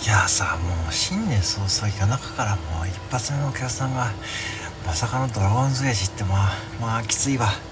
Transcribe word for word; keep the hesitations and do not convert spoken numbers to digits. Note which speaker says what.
Speaker 1: やさ、もう新年早々夜中からもう一発目のお客さんがまさかのドラゴンズエイジって、まあまあきついわ。